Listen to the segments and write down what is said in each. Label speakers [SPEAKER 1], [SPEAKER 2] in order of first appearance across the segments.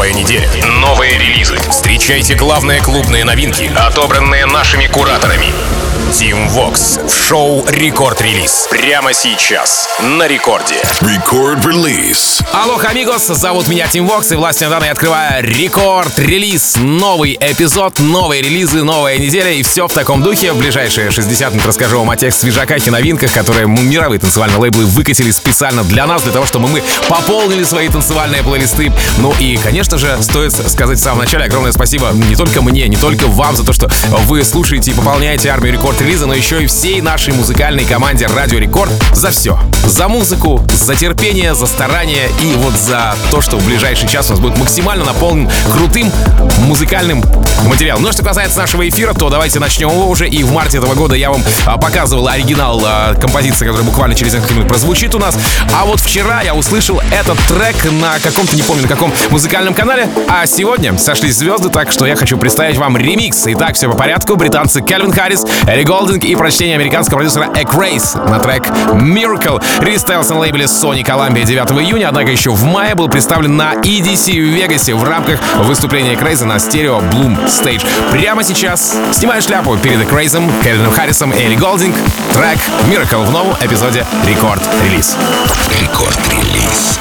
[SPEAKER 1] новая неделя, новые релизы. Встречайте главные клубные новинки, отобранные нашими кураторами. Team Vox в шоу «Рекорд-релиз». Прямо сейчас на рекорде.
[SPEAKER 2] Рекорд-релиз.
[SPEAKER 3] Алло, амигос, зовут меня Team Vox, и властью данной открываю рекорд-релиз. Новый эпизод, новые релизы, новая неделя, и все в таком духе. В ближайшие 60 минут расскажу вам о тех свежаках и новинках, которые мировые танцевальные лейблы выкатили специально для нас, для того, чтобы мы пополнили свои танцевальные плейлисты. Ну и, конечно же, стоит сказать в самом начале огромное спасибо не только мне, не только вам за то, что вы слушаете и пополняете армию рекорд-релиза, но еще и всей нашей музыкальной команде Радио Рекорд за все. За музыку, за терпение, за старание и вот за то, что в ближайший час у нас будет максимально наполнен крутым музыкальным материалом. Ну, что касается нашего эфира, то давайте начнем его уже. И в марте этого года я вам показывал оригинал композиции, которая буквально через несколько минут прозвучит у нас. А вот вчера я услышал этот трек на каком-то, не помню на каком музыкальном канале. А сегодня сошлись звезды, так что я хочу представить вам ремикс. Итак, все по порядку. Британцы Кальвин Харрис, Элли Голдинг и прочтение американского продюсера Экрайс на трек Miracle. Релиз состоялся на лейбле Sony Columbia 9 июня, однако еще в мае был представлен на EDC в Вегасе в рамках выступления Экрайса на стерео Bloom Stage. Прямо сейчас снимаю шляпу перед Экрайсом, Кальвином Харрисом и Элли Голдинг. Трек Miracle в новом эпизоде Рекорд-релиз.
[SPEAKER 2] Рекорд-релиз.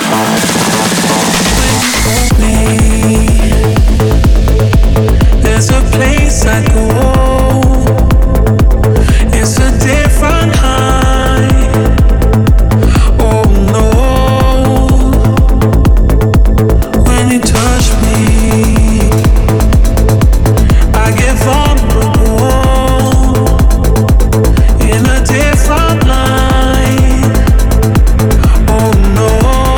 [SPEAKER 4] There's a place I go. It's a different high. Oh no. When you touch me, I get vulnerable in a different light. Oh no.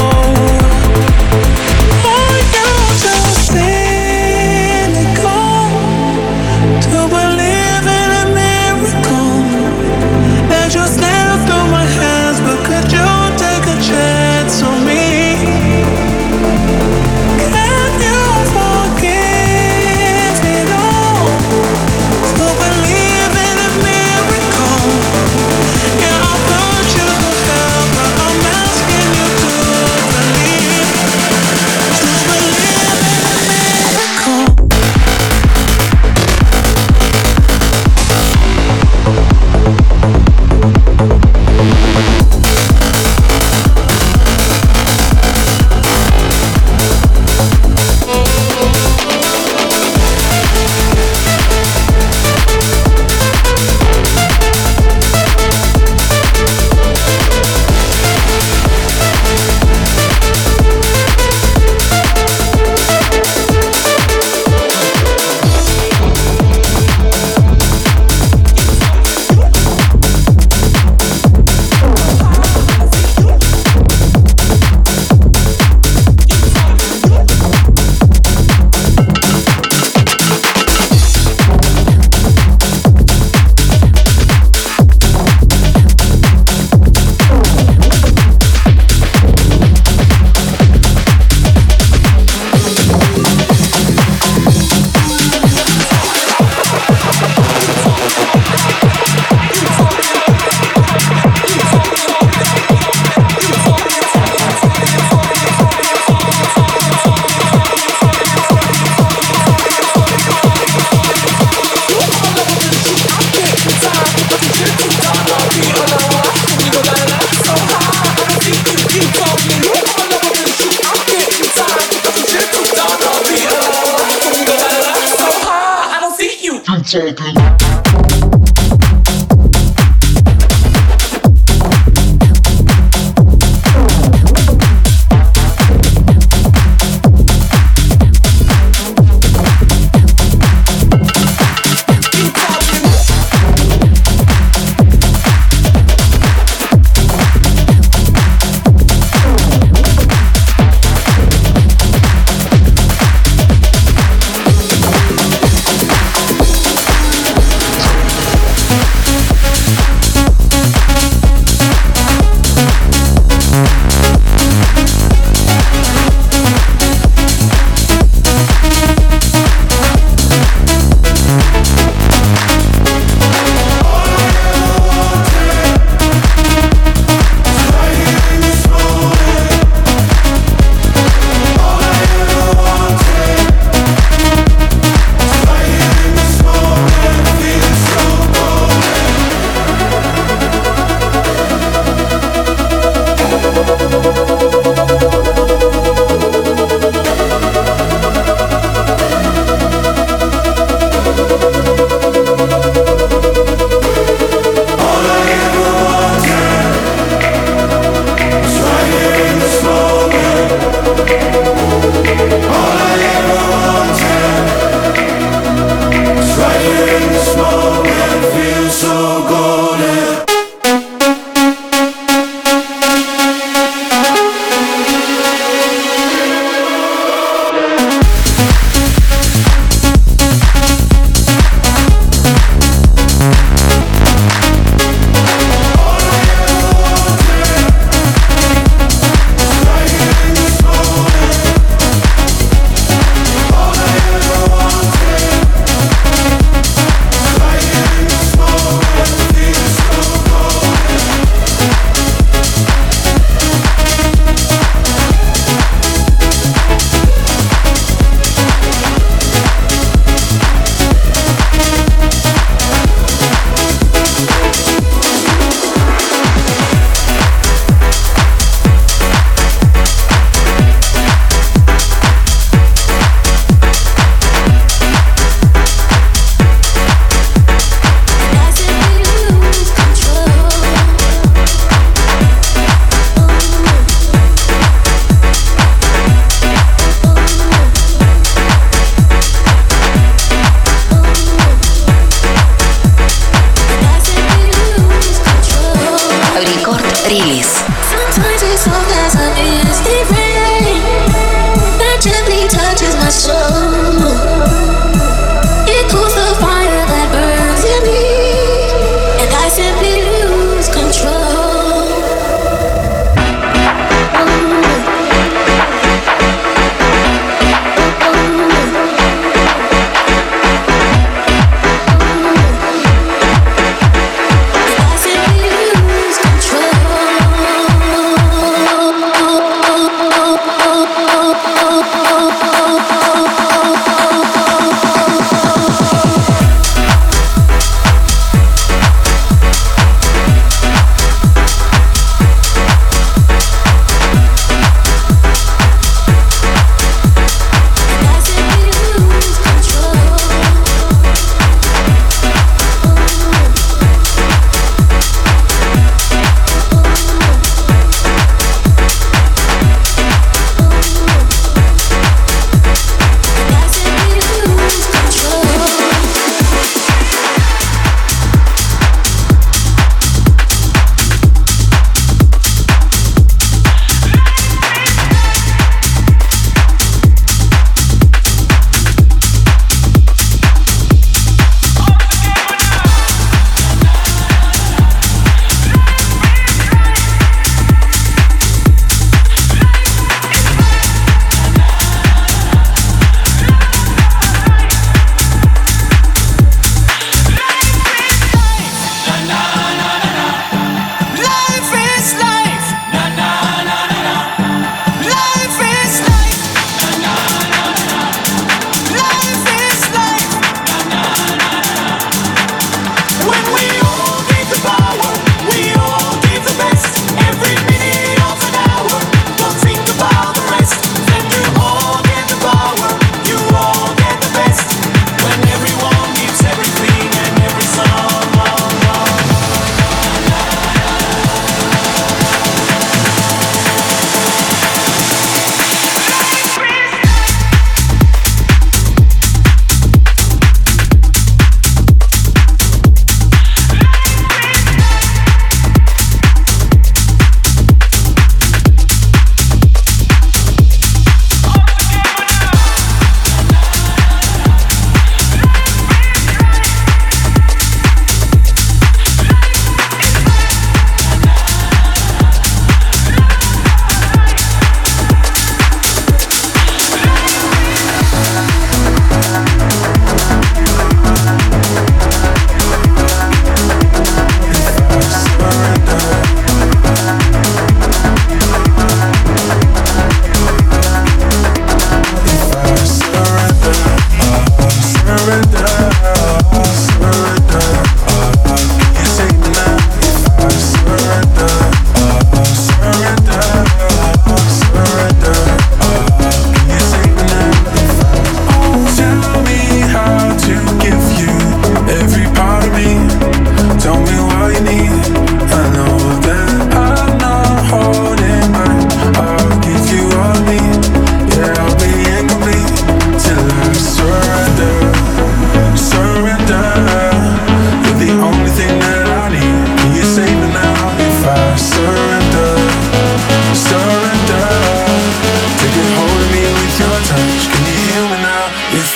[SPEAKER 4] Oh, you're just cynical to believe in a miracle that just slipped through my hands. But could you take a chance on me? Can you forgive it all? To believe in a miracle. Yeah, I'll put you to hell, but I'm asking you to believe. Just believe in a miracle.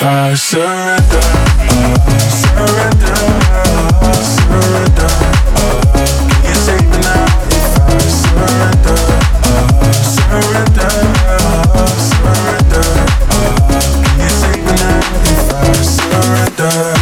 [SPEAKER 4] I surrender, surrender, surrender. Can you save me now if I surrender, surrender, surrender? Can you save me now if I surrender?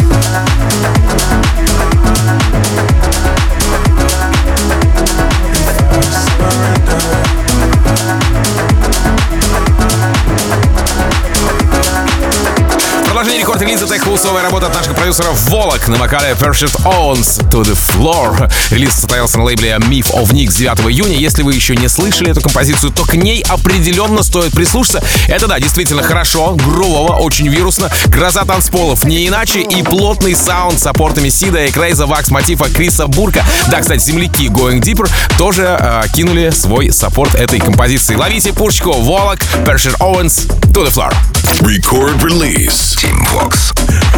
[SPEAKER 3] Продолжение рекорд-релиза теххаусовая работа от наших продюсеров Волок на вокале Perfect Owns To The Floor. Релиз состоялся на лейбле Myth of Nix 9 июня. Если вы еще не слышали эту композицию, то к ней определенно стоит прислушаться. Это, да, действительно хорошо, грувово, очень вирусно. Гроза танцполов, не иначе, и плотный саунд с аппортами Сида и Крейза, Вакс, Мотива, Криса Бурка. Да, кстати, земляки Going Deeper тоже кинули свой саппорт этой композиции. Ловите пушечку, Волок, Perfect Owns To The Floor.
[SPEAKER 2] Record release. Team Vox.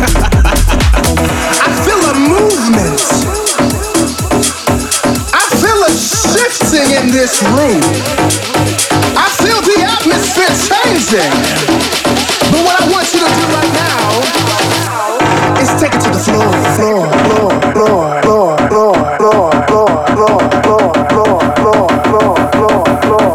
[SPEAKER 5] I feel a movement. I feel a shifting in this room. I feel the atmosphere changing. But what I want you to do right now is take it to the floor, floor, floor, floor, floor, floor, floor, floor, floor, floor, floor, floor, floor, floor, floor.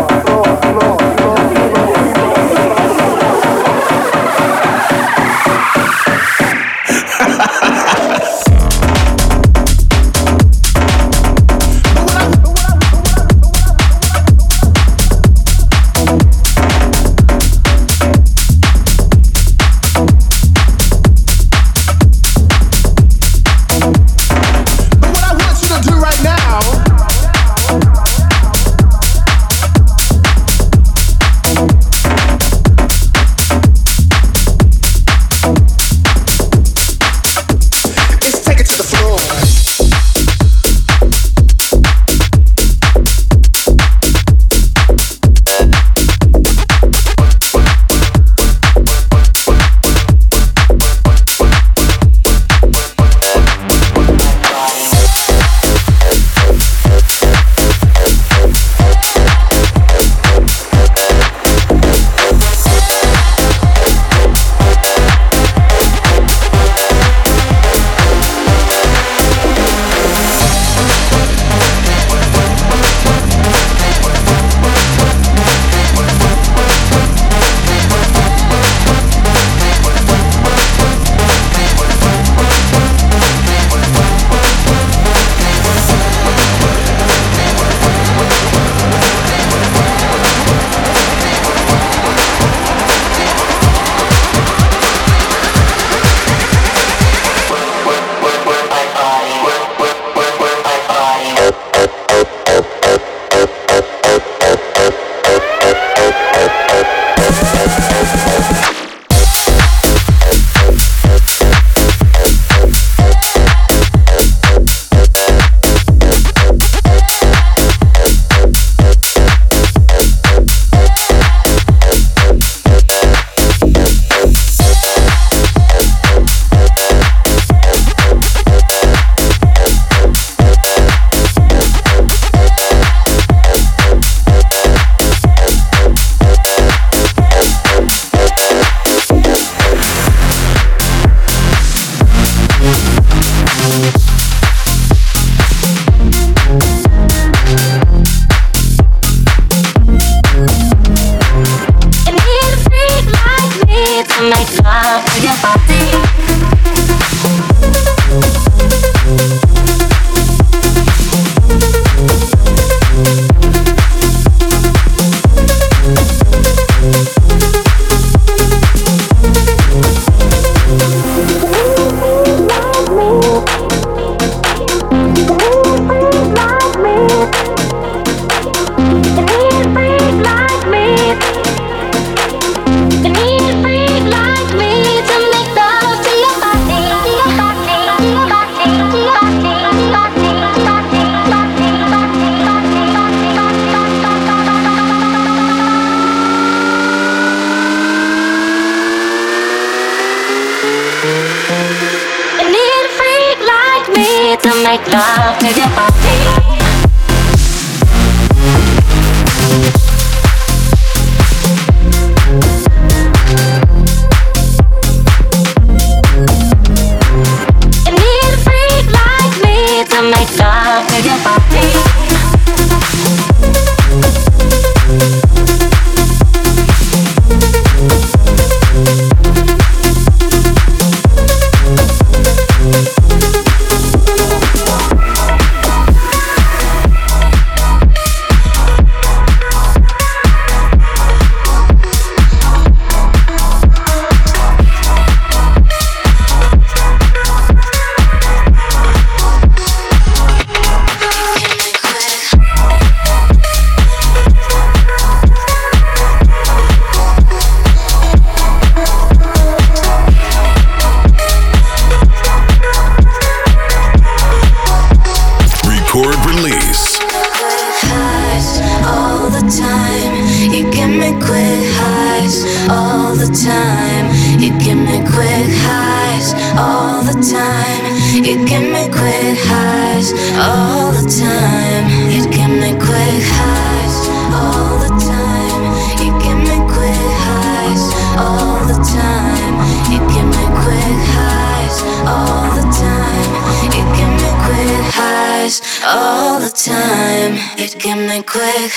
[SPEAKER 6] make love to your body. all the time. You give me quick highs all the time. You give me quick highs all the time. You give me quick highs all the time. You give me quick highs all the time. You give me quick highs all the time. You give me quick highs all the time. You give me quick.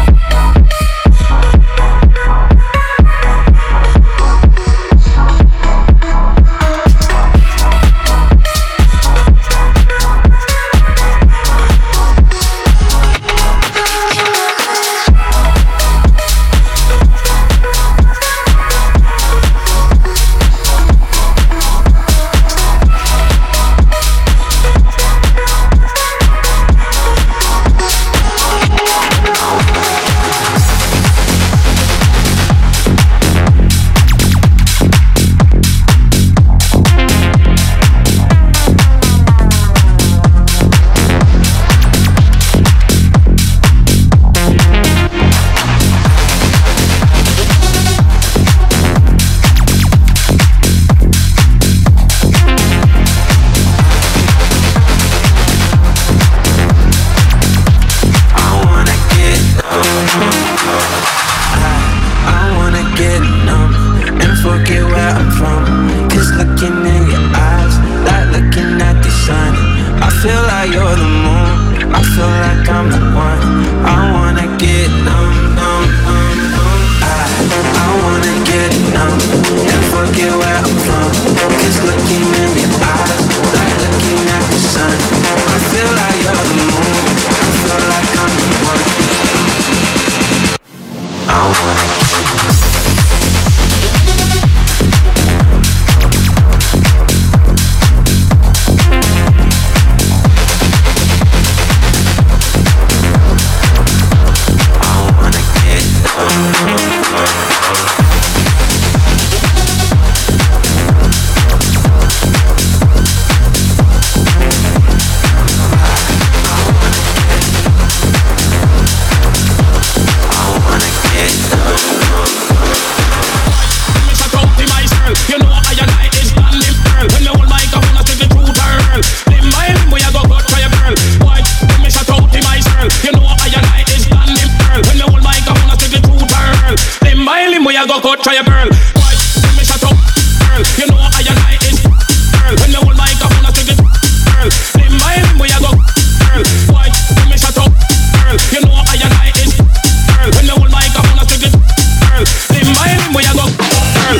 [SPEAKER 7] Try a girl. Why? Let me shut up, girl. You know I and I is girl. When you hold my cup on a stick it, girl. Limb by limb we a go, girl. Why? Let me shut up, girl. You know I and I is girl. When you hold my cup on a stick it, girl. Limb by limb we a go, girl.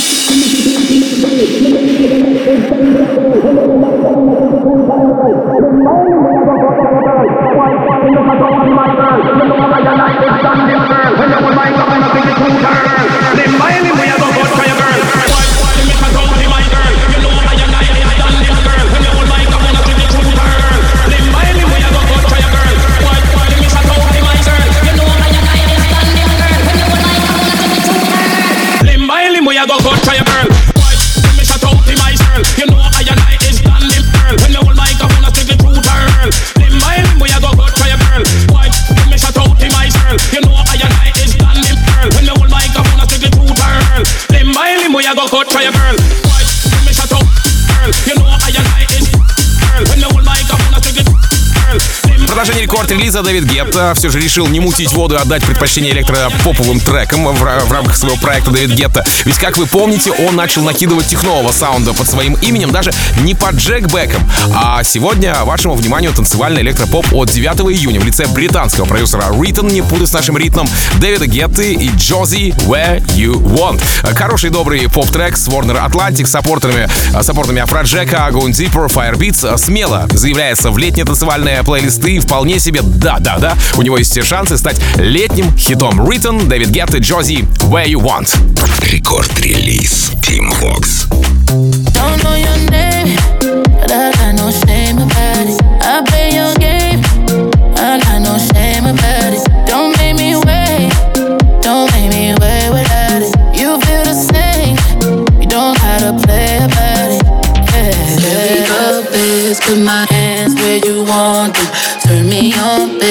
[SPEAKER 7] Try a girl. Why? Let me shut up, girl. You know I and I is girl. When you hold my cup on a stick it, girl.
[SPEAKER 3] Продолжение рекорд-релиза. Дэвид Гетта все же решил не мутить воду и отдать предпочтение электропоповым трекам в рамках своего проекта Дэвид Гетта. Ведь, как вы помните, он начал накидывать технового саунда под своим именем даже не под Джек Беком. А сегодня вашему вниманию танцевальный электропоп от 9 июня в лице британского продюсера Rhythm, не путать с нашим ритмом, Дэвида Гетты и Josie Where You Want. Хороший добрый поп-трек с Warner Atlantic с саппортами Афроджека, Going Deeper, Firebeats смело заявляется в летние танцевальные плейлисты и вполне себе да, у него есть все шансы стать летним хитом. Rhythm, Дэвид Гетта, Josie Where You Want.
[SPEAKER 2] Рекорд-релиз Team Vox.
[SPEAKER 8] Don't know your name, but I got no shame about it. I play your game, I got no shame about it. Don't make me wait, don't make me wait without it. You feel the same, you don't gotta play about it. Yeah. Baby, go best, put my hands where you want them. Turn me on, baby.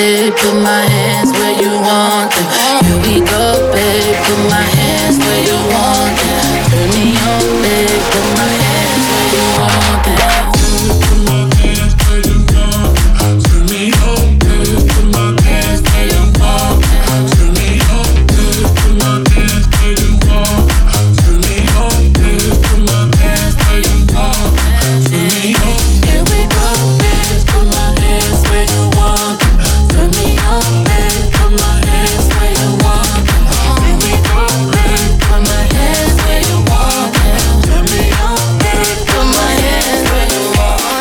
[SPEAKER 8] babe, put my hands where you want them. Here we go, babe, put my hands where you want them. Turn me on, babe, put my hands where you want them. Put my hands where you want them. Turn me on, babe, put my hands where you want them. Turn me on, babe, put my hands where you want them. Turn me on, babe, put my hands where you want them. Turn me on. Here we go, babe, put my hands where you want them. Turn me on, babe, put my hands where you want them. Here we go, babe, put my hands where you want them. Turn me on, babe, put my hands where you want them.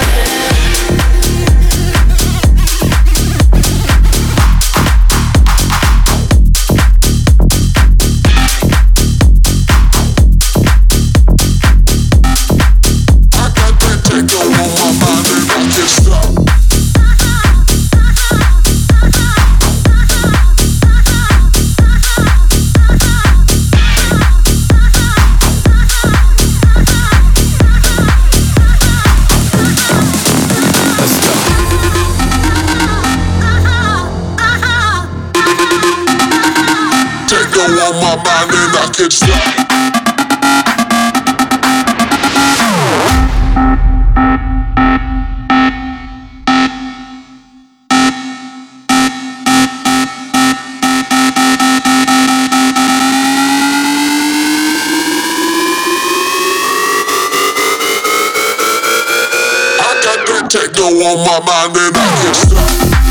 [SPEAKER 9] I got that techno on my mind and I can't stop. Techno on my mind and I can't stop. I got that techno on my mind and I can't stop.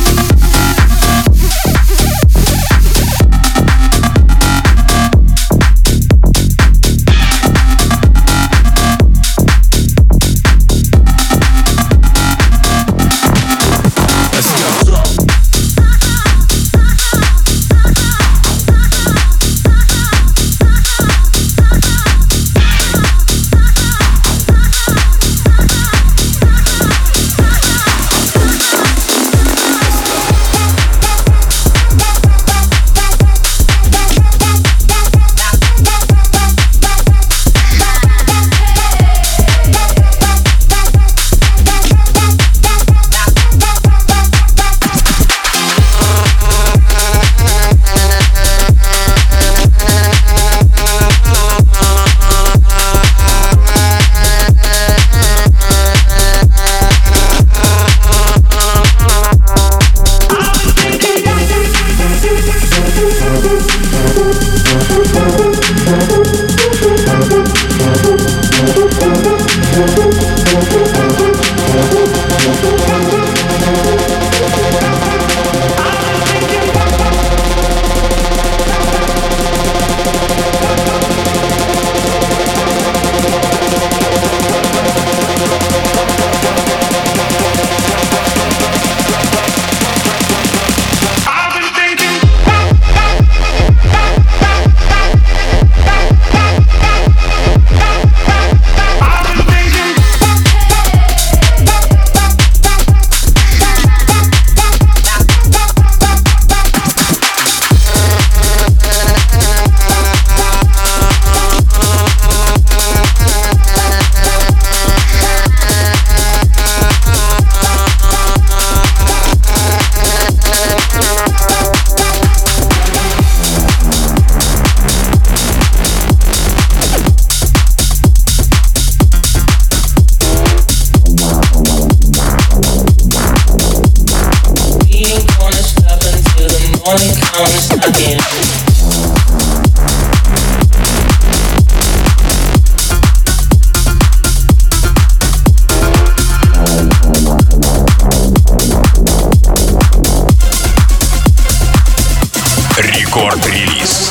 [SPEAKER 1] Рекорд-релиз.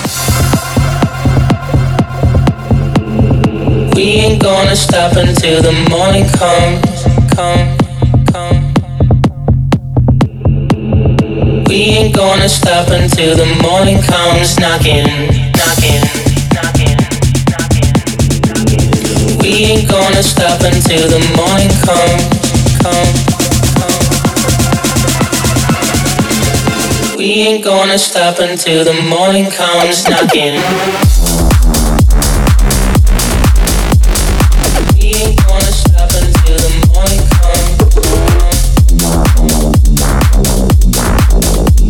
[SPEAKER 8] We ain't gonna stop until the morning comes. We ain't gonna stop until the morning comes knocking. We ain't gonna stop until the morning comes. We ain't gonna stop until the morning comes knocking. We ain't gonna stop until the morning comes.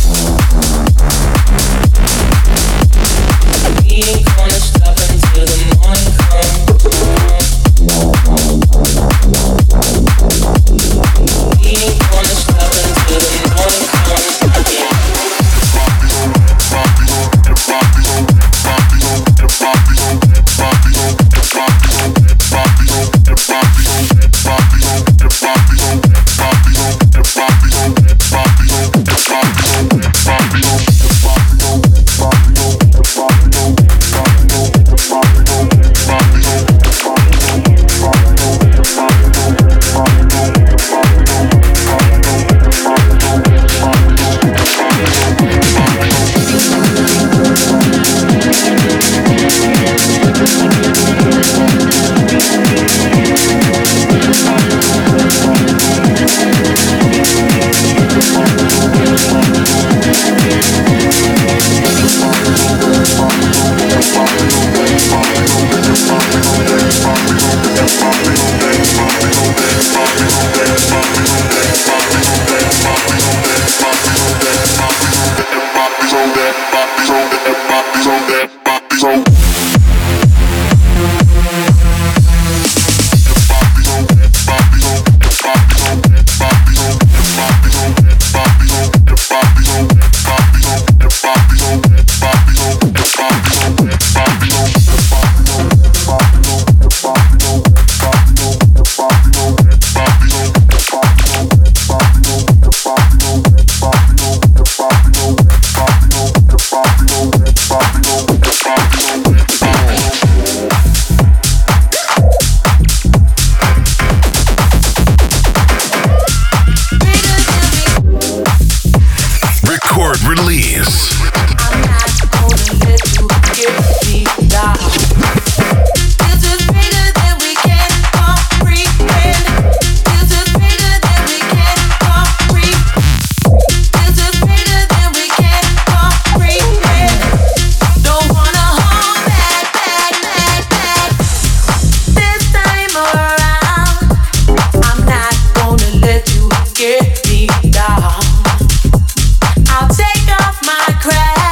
[SPEAKER 8] I'll take off my crash.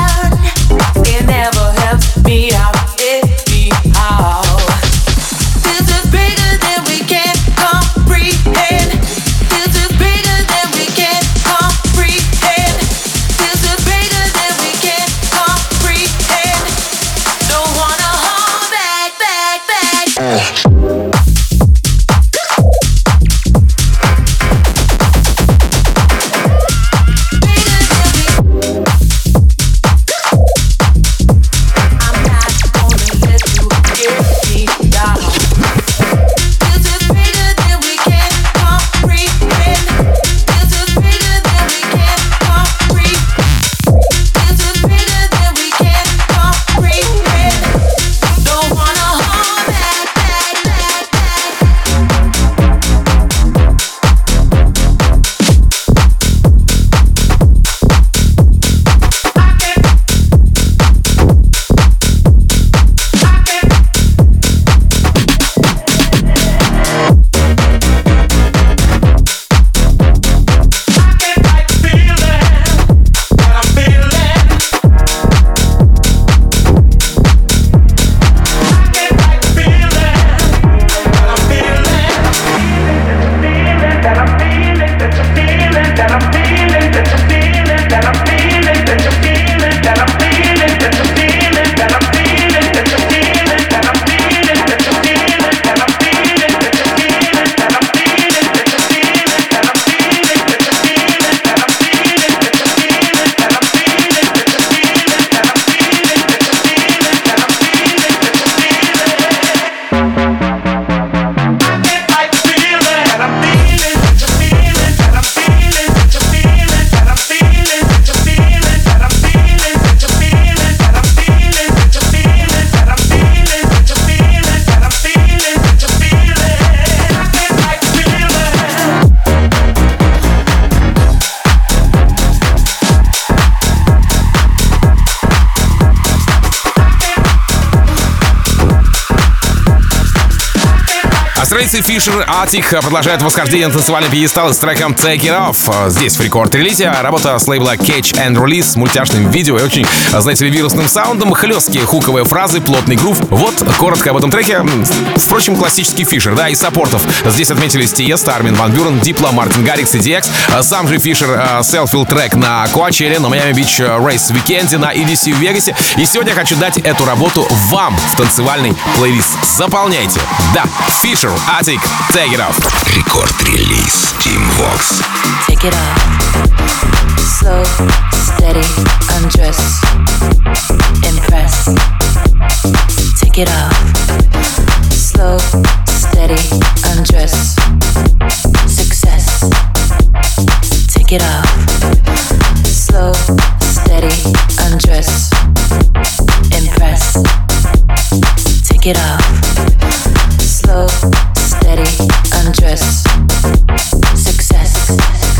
[SPEAKER 3] Австралийцы Fisher Attic продолжают восхождение на танцевальный пьедестал с треком Take It Off. Здесь в рекорд-релизе работа с лейбла Catch and Release с мультяшным видео и очень, знаете ли, вирусным саундом, хлесткие хуковые фразы, плотный грув. Вот коротко об этом треке. Впрочем, классический Fisher, да, и саппортов. Здесь отметились Тиеста, Армин Ван Бюрен, Дипло, Мартин Гаррикс и DX. Сам же Fisher селфил трек на Coachella, на Miami Beach Race Weekend, на EDC в Вегасе. И сегодня хочу дать эту работу вам в танцевальный плейлист. Заполняйте. Да, Fisher Attic, Take It Off.
[SPEAKER 2] Рекорд-релиз Team Vox.
[SPEAKER 8] Take it off. Slow, steady, undress. Impress. Take it off. Slow, steady, undress. Success. Take it off. Slow, steady, undress. Impress. Take it off. Slow, steady, undress. Success.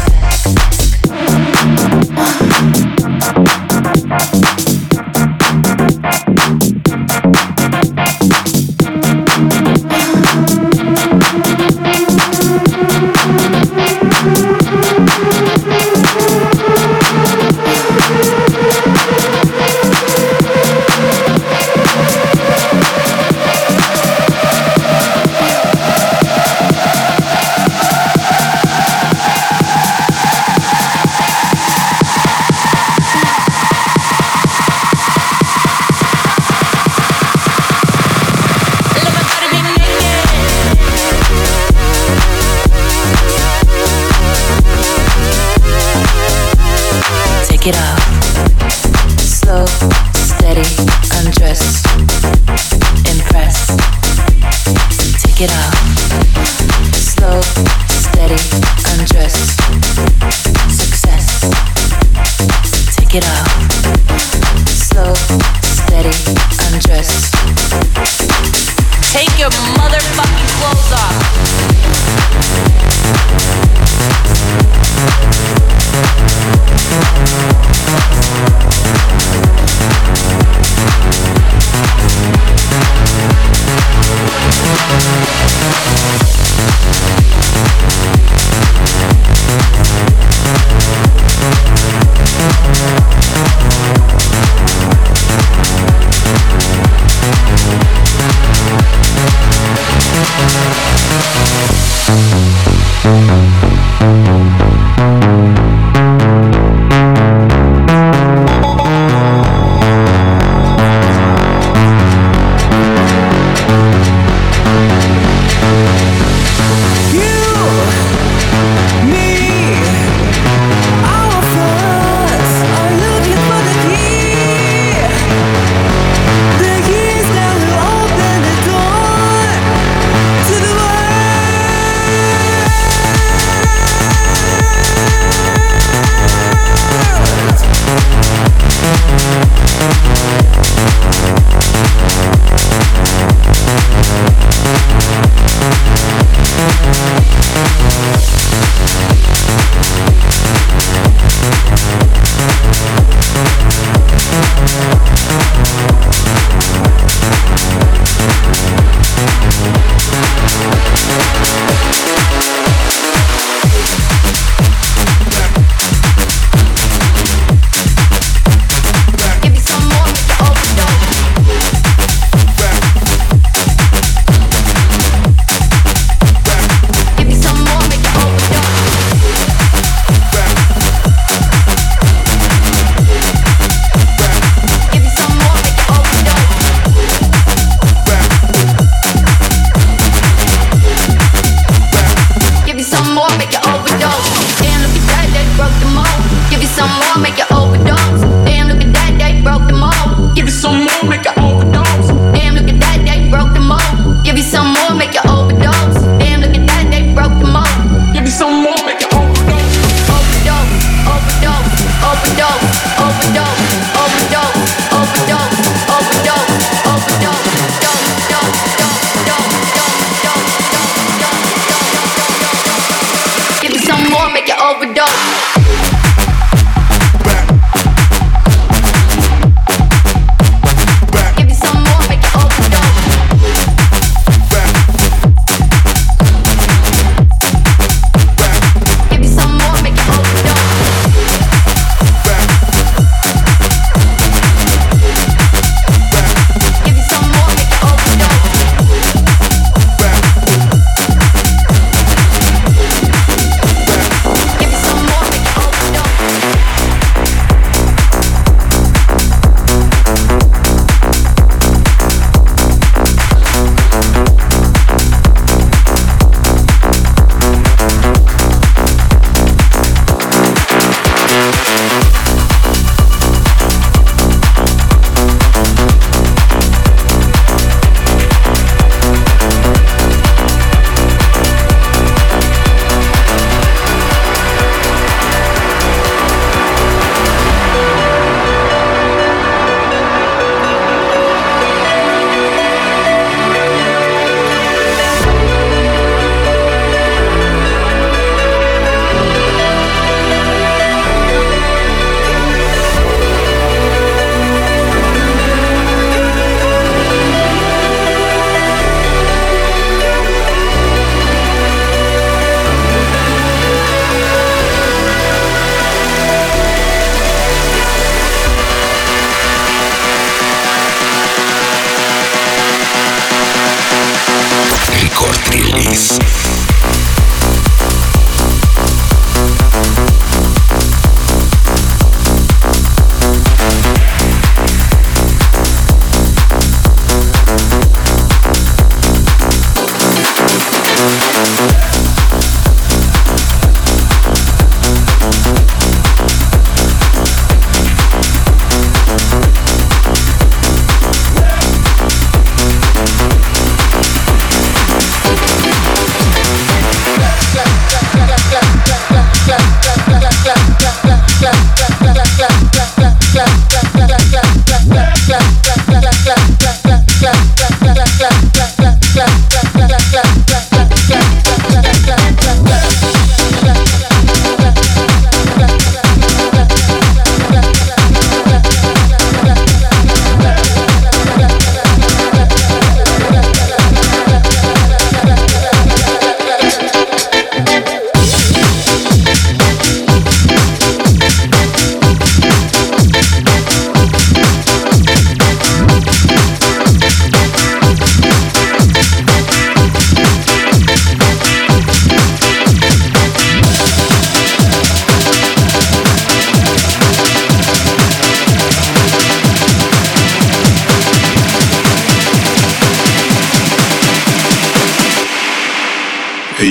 [SPEAKER 8] Take it off. Slow, steady, undress. Impress. Take it off. Slow, steady, undress. Success. Take it off. Slow, steady, undress. Take your motherfucking clothes off.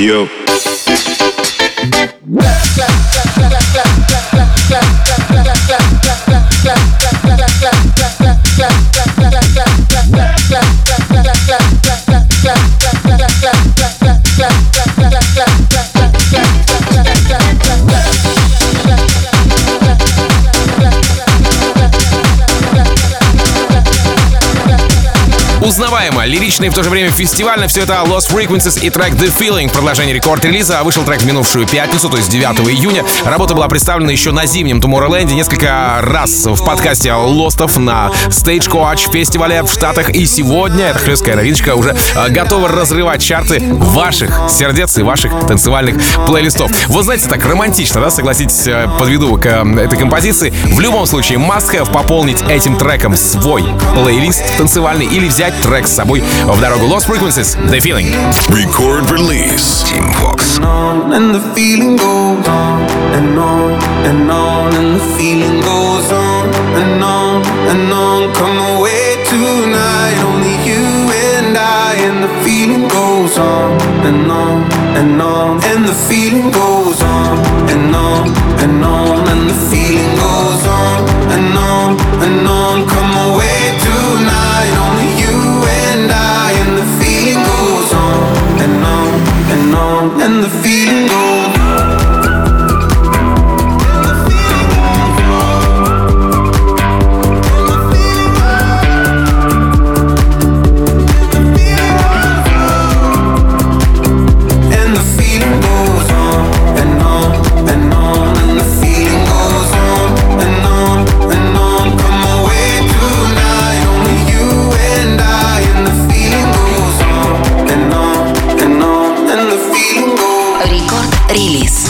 [SPEAKER 10] yo.
[SPEAKER 3] Узнаваемо, лирично и в то же время фестивально все это Lost Frequencies и трек The Feeling. Продолжение рекорд-релиза. Вышел трек в минувшую пятницу, то есть 9 июня. Работа была представлена еще на зимнем Tomorrowland несколько раз в подкасте Лостов на Stagecoach фестивале в Штатах. И сегодня эта хлесткая новиночка уже готова разрывать чарты ваших сердец и ваших танцевальных плейлистов. Вот знаете, так романтично, да, согласитесь, подведу к этой композиции. В любом случае, must-have пополнить этим треком свой плейлист танцевальный или взять трек с собой в дорогу. Lost Frequencies, The Feeling.
[SPEAKER 2] Record release. Team Vox.
[SPEAKER 11] And the feeling goes on and on and on, and the feeling goes on and on and on. Come away tonight, only you and I, and the feeling goes on and on and on, and the feeling goes on and on and on, and the feeling goes on and on and on. Come away tonight, only you and I, and the feeling goes on and on and on, and the feeling goes on.
[SPEAKER 6] Релиз.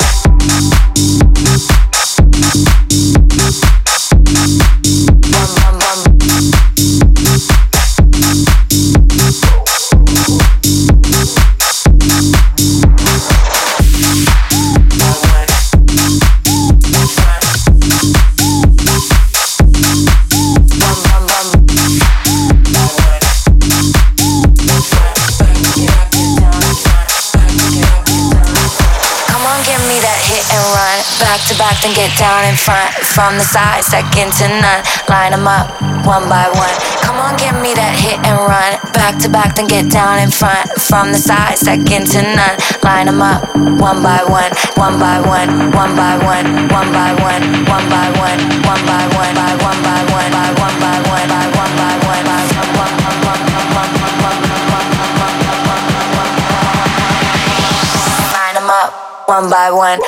[SPEAKER 6] Back then get down in front, from the side, second to none. Line them up, one by one. Come on, give me that hit and run. Back to back, then get down in front, from the side, second to none. Line them up, one by one, one by one, one by one, one by one, one by one, one by one, by one by one, by one by one, by one by one, by one. Line them up, one by one.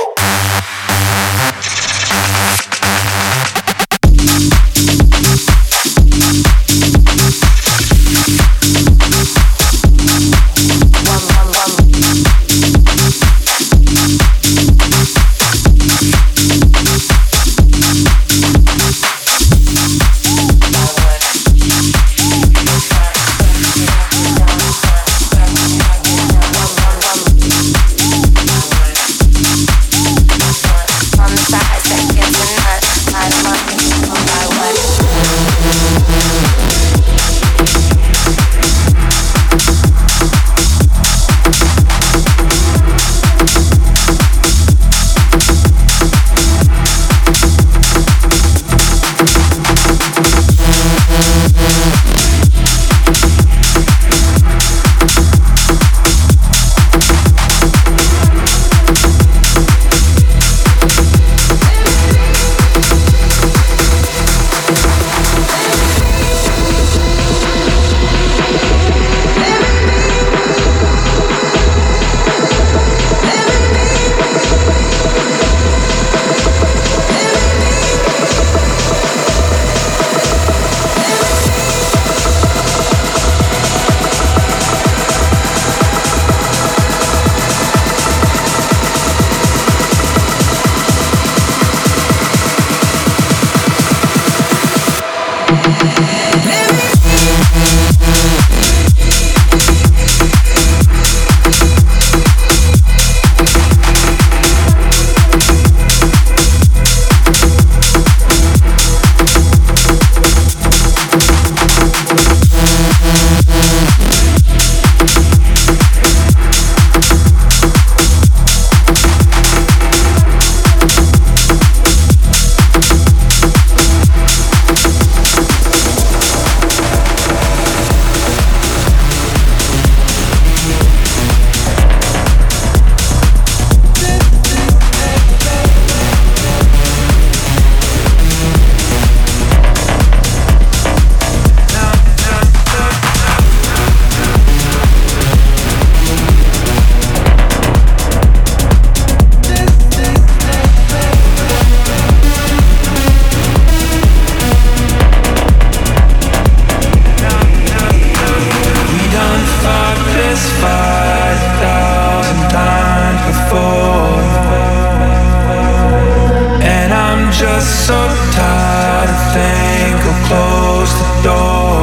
[SPEAKER 11] think I'll close the door.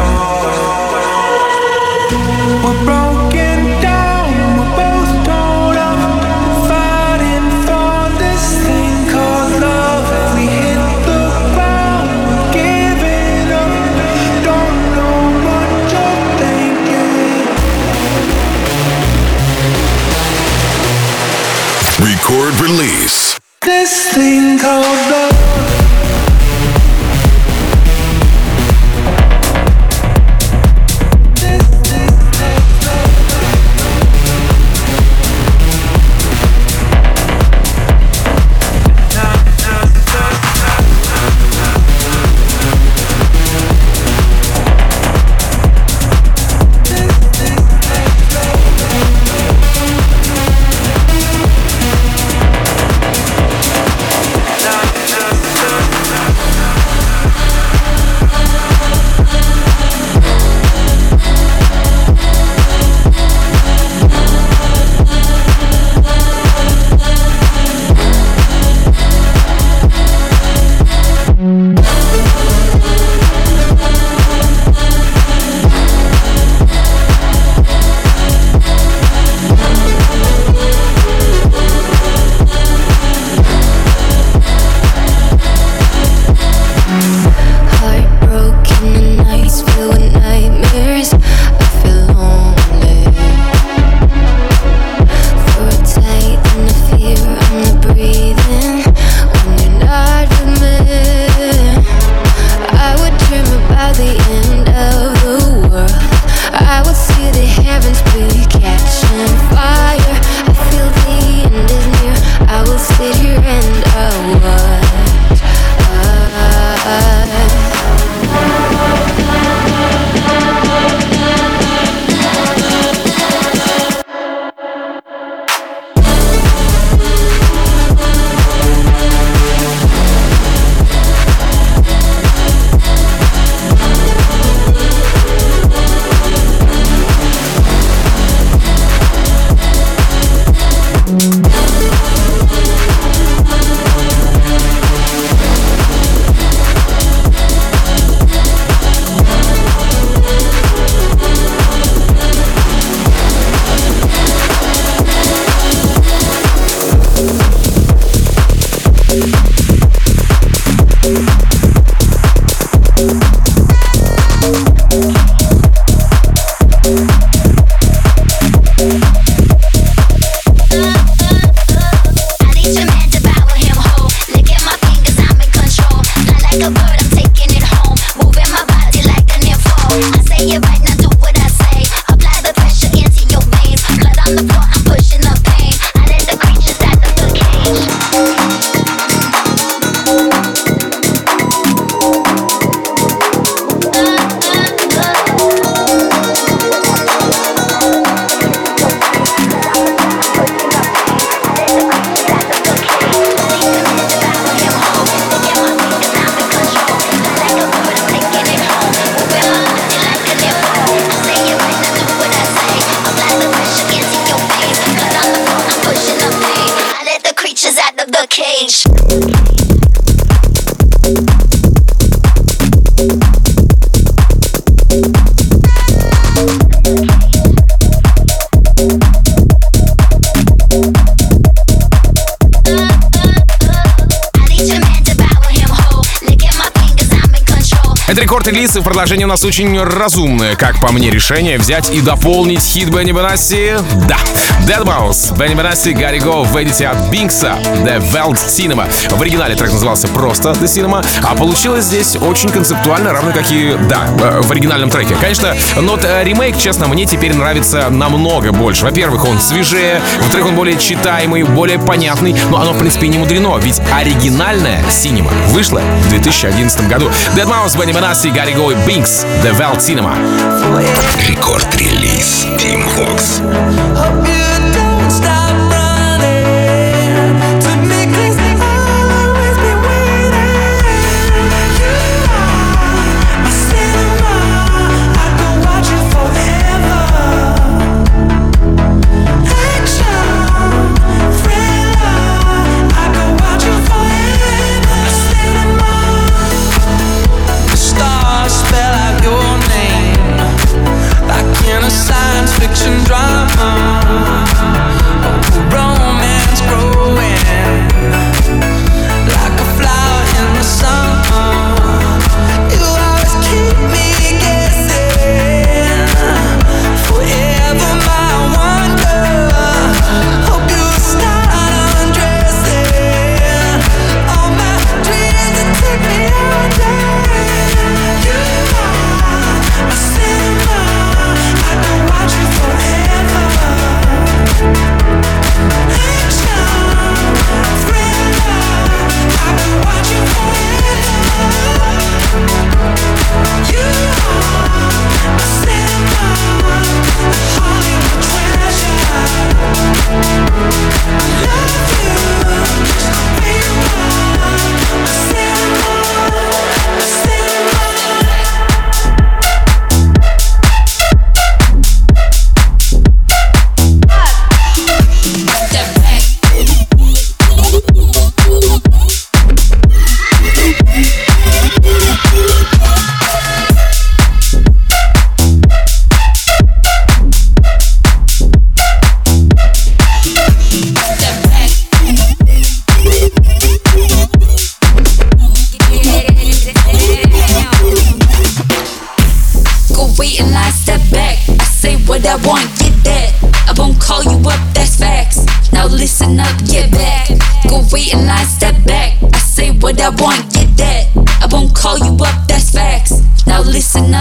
[SPEAKER 11] We're broken down, we're both torn up, fighting for this thing called love. We hit the ground, we're giving up. Don't know what you're thinking.
[SPEAKER 2] Record release.
[SPEAKER 11] This thing called love.
[SPEAKER 3] Это рекорд-релиз, и в продолжении у нас очень разумное, как по мне, решение взять и дополнить хит Бенни Бенасси. Да, Deadmau5, Бенни Бенасси, Gotta Go в эдите от Бинкса, The Welt Cinema. В оригинале трек назывался просто The Cinema, а получилось здесь очень концептуально, равно как и, да, в оригинальном треке. Конечно, но ремейк, честно, мне теперь нравится намного больше. Во-первых, он свежее, во-вторых, он более читаемый, более понятный, но оно, в принципе, не мудрено, ведь оригинальная Cinema вышла в 2011 году. Deadmau5, Бенни Бенасси, Gotta Go и Binks, The Welt Cinema.
[SPEAKER 2] Рекорд-релиз Team Vox.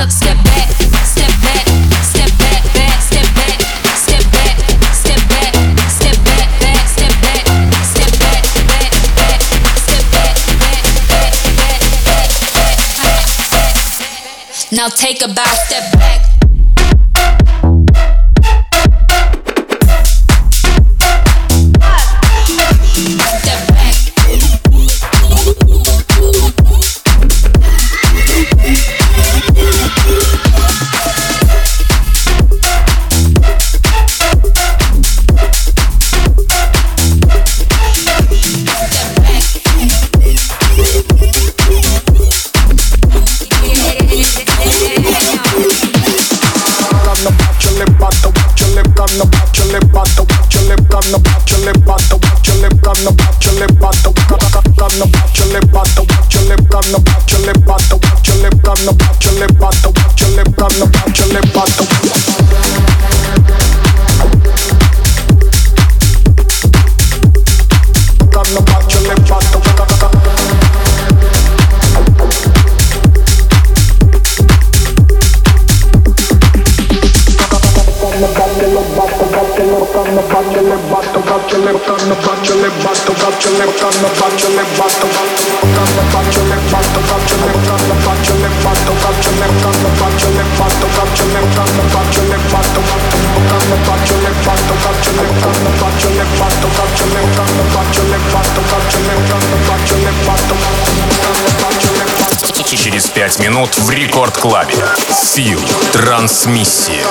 [SPEAKER 6] up, step back, step back, step back, back, step back, step back, step back, step back, back, step back, step back, back, back, step back, back, back, back, back, back. Now take a bow, step back.
[SPEAKER 1] Через 5 минут в Рекорд Клабе. Фил. Трансмиссия.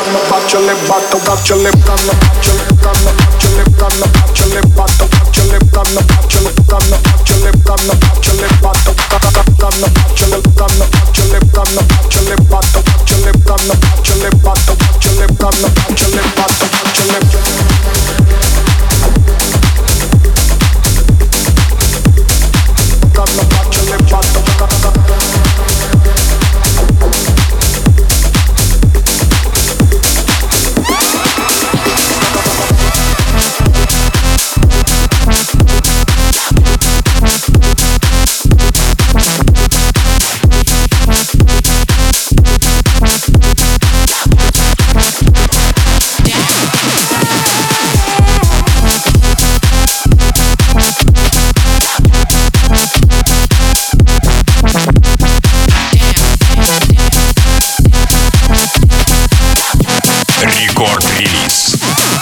[SPEAKER 1] Рекорд-релиз.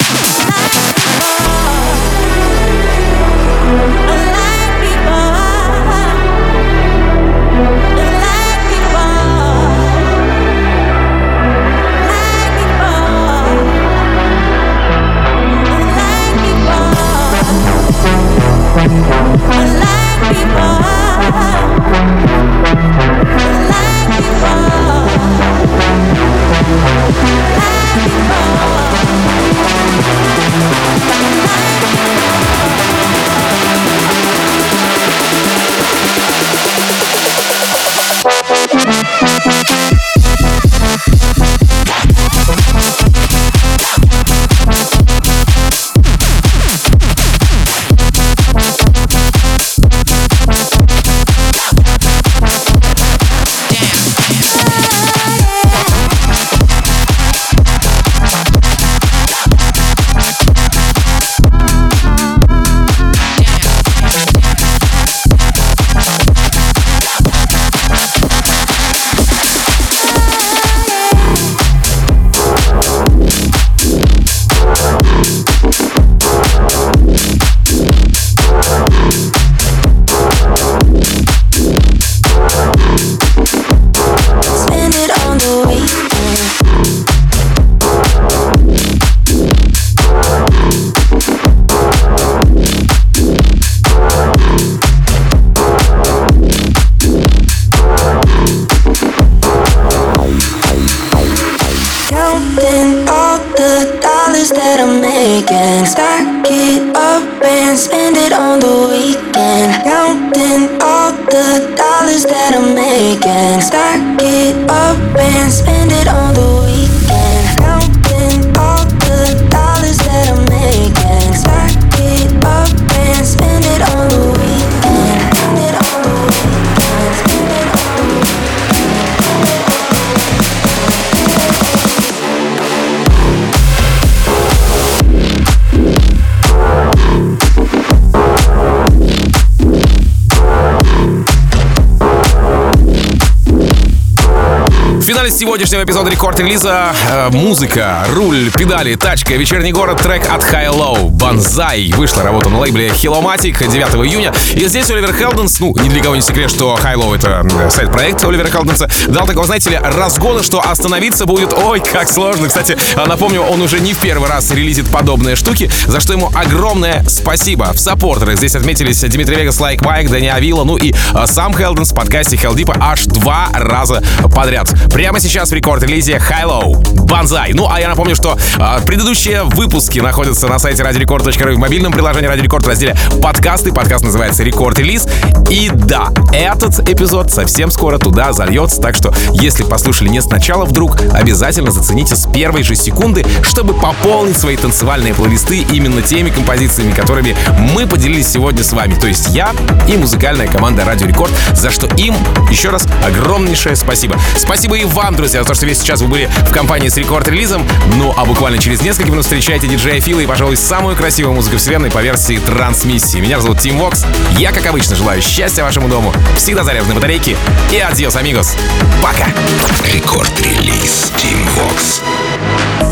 [SPEAKER 8] Stack it up and spend it on the weekend. Counting all the dollars that I'm making. Stack it up and spend it on the weekend. Counting all the dollars that I'm making. Stack it up and spend it on the weekend. Spend it on the weekend. Spend it on the weekend.
[SPEAKER 3] финале сегодняшнего эпизода рекорд-релиза музыка, руль, педали, тачка, вечерний город, трек от High Low, Banzai. Вышла работа на лейбле Hillomatic 9 июня. И здесь Оливер Хелденс, ну, ни для кого не секрет, что High Low — это сайт-проект Оливера Хелденса, дал такого, знаете ли, разгона, что остановиться будет, ой, как сложно. Кстати, напомню, он уже не в первый раз релизит подобные штуки, за что ему огромное спасибо. В саппортерах здесь отметились Дмитрий Вегас, Лайк Майк, Дани Авила, ну и сам Хелденс в подкасте Hell Deep аж 2 раза подряд. Прямо сейчас в рекорд-релизе High Low, Banzai. Ну, а я напомню, что предыдущие выпуски находятся на сайте radiorecord.ru, в мобильном приложении Radio Record в разделе подкасты. Подкаст называется Рекорд-релиз. И да, этот эпизод совсем скоро туда зальется, так что, если послушали не сначала вдруг, обязательно зацените с первой же секунды, чтобы пополнить свои танцевальные плейлисты именно теми композициями, которыми мы поделились сегодня с вами. То есть я и музыкальная команда Radio Record, за что им еще раз огромнейшее спасибо. Спасибо и вам, друзья, за то, что весь сейчас вы были в компании с рекорд-релизом. Ну, а буквально через несколько минут встречайте диджея Фила и, пожалуй, самую красивую музыку вселенной по версии трансмиссии. Меня зовут Тим Вокс. Я, как обычно, желаю счастья вашему дому, всегда заряженной батарейки и адьос, амигос. Пока!
[SPEAKER 2] Рекорд-релиз Team Vox.